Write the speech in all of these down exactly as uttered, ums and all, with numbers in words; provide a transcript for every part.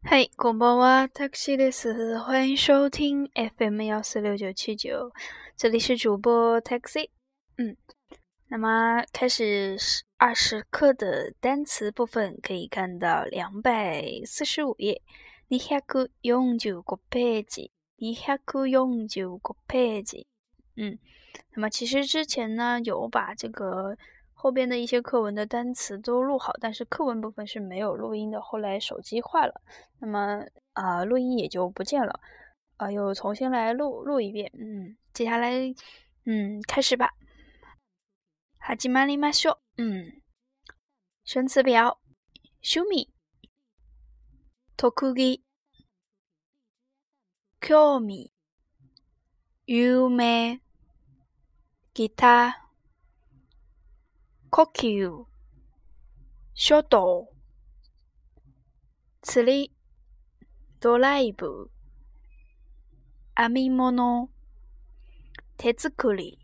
嗨，こんばんは、タクシーです。欢迎收听 F M 一四六九七九，这里是主播 Taxi。嗯，那么开始二十课的单词部分，可以看到两百四十五页，二百四十五ページ，二百四十五ページ。嗯，那么其实之前呢，有把这个后边的一些课文的单词都录好，但是课文部分是没有录音的，后来手机坏了，那么啊、呃、录音也就不见了，啊、呃、又重新来录录一遍。嗯，接下来嗯开始吧。始まりましょう。嗯，生词表：趣味、特技、興味、有名、ギター、呼吸、書道、釣り、ドライブ、編み物、手作り、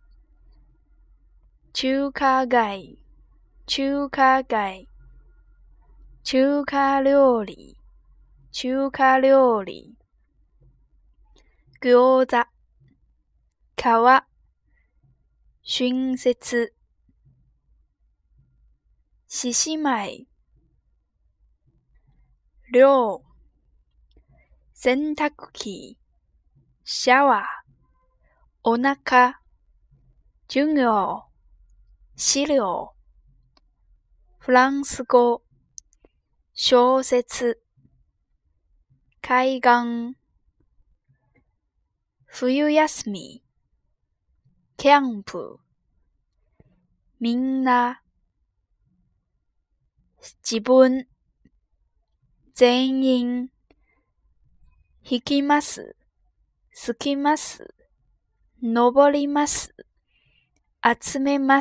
中華街、中華街、中華料理、中華料理、餃子、皮、春節、獅子舞、寮、洗濯機、シャワー、お腹、授業、資料、フランス語、小説、海岸、冬休み、キャンプ、みんな、自分、全員、弾きます、好きます、登ります、集めます、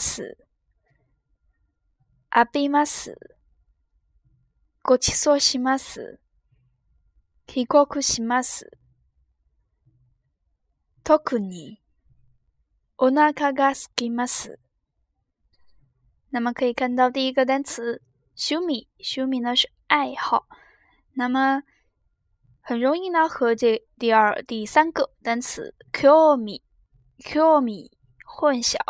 浴びます、ごちそうします、帰国します、特に、お腹が空きます。那么可以看到第一个单词趣味，趣味呢是爱好，那么很容易呢和这第二第三个单词興味興味混淆。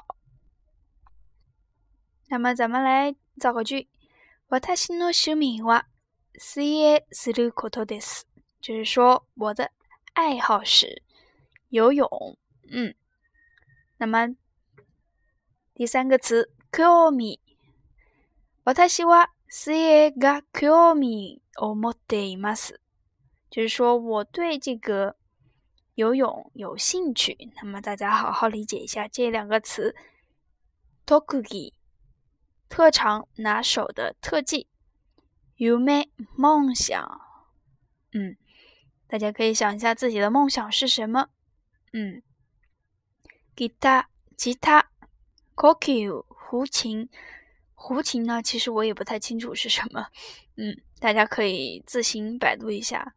那么咱们来造个句，私の趣味は水泳することです，就是说我的爱好是游泳。嗯，那么第三个词興味，私は水泳が興味を持っています，就是说我对这个游泳有兴趣。那么大家好好理解一下这两个词，特技特长拿手的特技，夢梦想。嗯，大家可以想一下自己的梦想是什么。嗯，吉他吉他，呼吸胡琴。胡琴呢，其实我也不太清楚是什么，嗯，大家可以自行百度一下。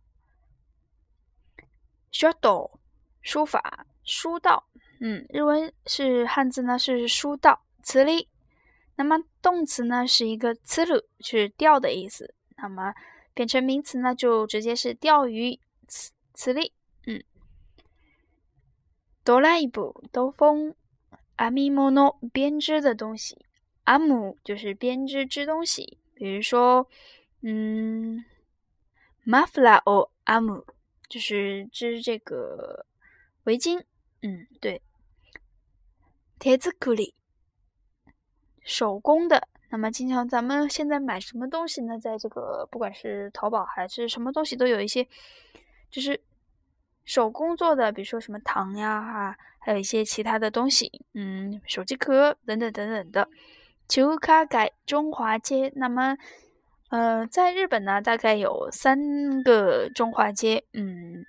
書道，书法，书道，嗯，日文是汉字呢是书道。釣り，那么动词呢是一个釣る，是钓的意思，那么变成名词呢就直接是钓鱼，釣り，嗯。ドライブ，兜风，編み物，编织的东西。編む就是编织织东西，比如说，嗯，マフラーを編む就是织这个围巾，嗯，对。手作り，手工的。那么经常咱们现在买什么东西呢？在这个不管是淘宝还是什么东西，都有一些就是手工做的，比如说什么糖呀，啊，还有一些其他的东西，嗯，手机壳等等等等的。中華街，中华街，那么呃，在日本呢，大概有三个中华街，嗯，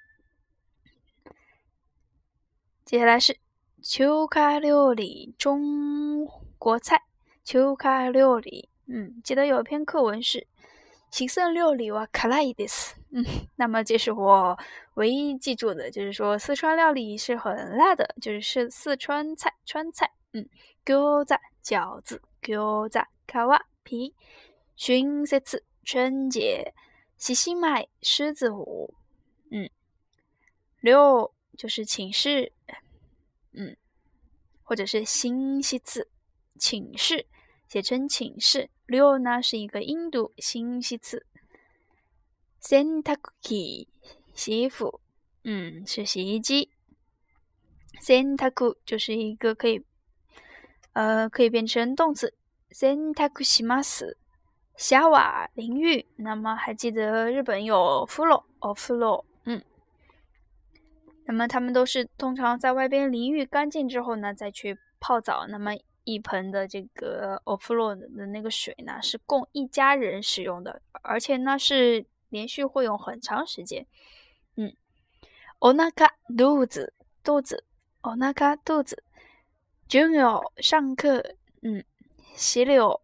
接下来是中華料理，中国菜，中華料理，嗯，记得有一篇课文是四川料理は辛いです，嗯，那么这是我唯一记住的，就是说四川料理是很辣的，就是四川菜，川菜，嗯，餃子，饺子。餃子、皮、春節、春节、 西西麦狮子舞，嗯，六就是寝室，嗯，或者是新西次寝室，写成寝室。六呢是一个音读，新西次。洗濯機洗衣服，嗯，是洗衣机。洗濯就是一个可以，呃，可以变成动词。洗濯します。シャワー淋浴，那么还记得日本有風呂哦，風呂，嗯，那么他们都是通常在外边淋浴干净之后呢，再去泡澡。那么一盆的这个お風呂的那个水呢，是供一家人使用的，而且呢是连续会用很长时间。嗯，お腹肚子肚子，お腹肚子，授業上课，嗯，洗柳。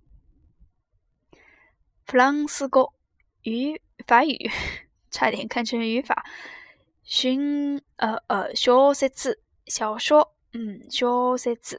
フランス語语法语，差点看成语法。寻呃呃小説小说，嗯，小説。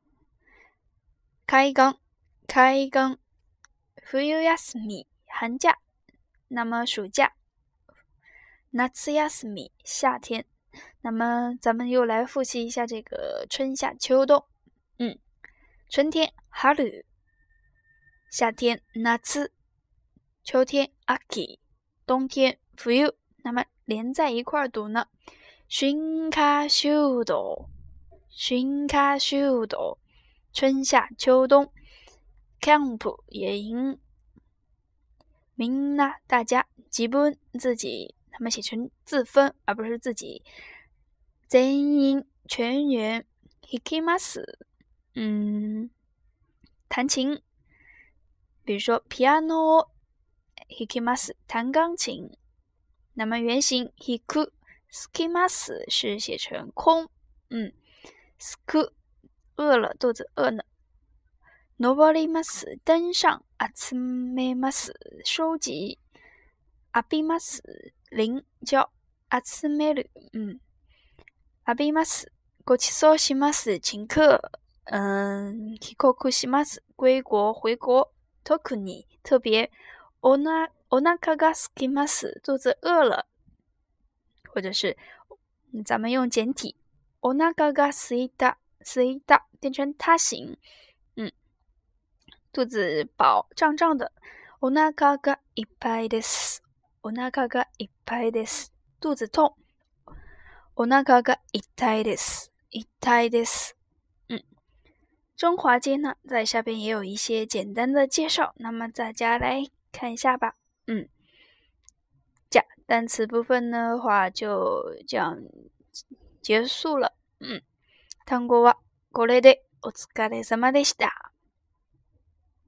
開館開館，冬休み寒假，那么暑假。夏休み夏天，那么咱们又来复习一下这个春夏秋冬。嗯，春天春，夏天夏。秋天秋，冬天冬，那么连在一块读呢。春夏秋冬，春夏秋冬，春夏秋冬。camp 野营，みんな大家，自分自己，他们写成自分而不是自己。全員全员，弾きます，嗯，弹琴，比如说 piano。弾きます，弹钢琴。那么原型弾く、好きます是写成空，嗯，すく饿了，肚子饿呢。登ります，登上。集めます，收集。浴びます，淋浇。集める，嗯，浴びます。ごちそうします，请客。嗯，帰国します，归国回国。特に特别。おなお腹が空きます，肚子饿了，或者是咱们用简体，お腹が空いた空いた变成他形，嗯，肚子饱胀胀的。お腹がいっぱいです。お腹がいっぱいです。肚子痛。お腹が痛いです。痛いです。嗯，中华街呢，在下边也有一些简单的介绍，那么大家来看一下吧。嗯，这单词部分的话就这样结束了。嗯，単語はこれでお疲れ様でした。